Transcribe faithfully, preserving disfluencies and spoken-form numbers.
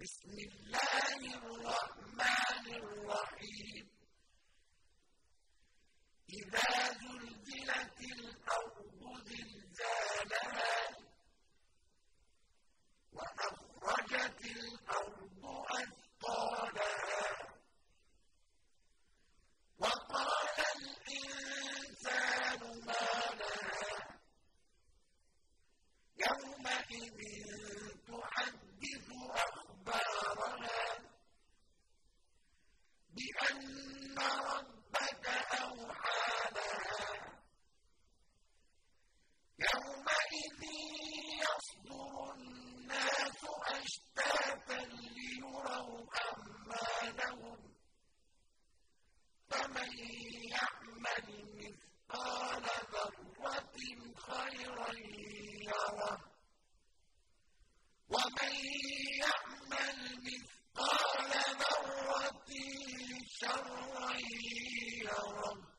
بسم الله الرحمن الرحيم إذا زلزلت الأرض زلزالها وأخرجت الأرض أثقالها وقال الإنسان ما لها يومئذ تحدث أخبارها بأن ربك أوحى لها يومئذ يصدر الناس أشتاتا ليروا أعمالهم فمن يعمل مثقال ذرة خيرا يره ومن يعمل مثقال ذرة شرا يره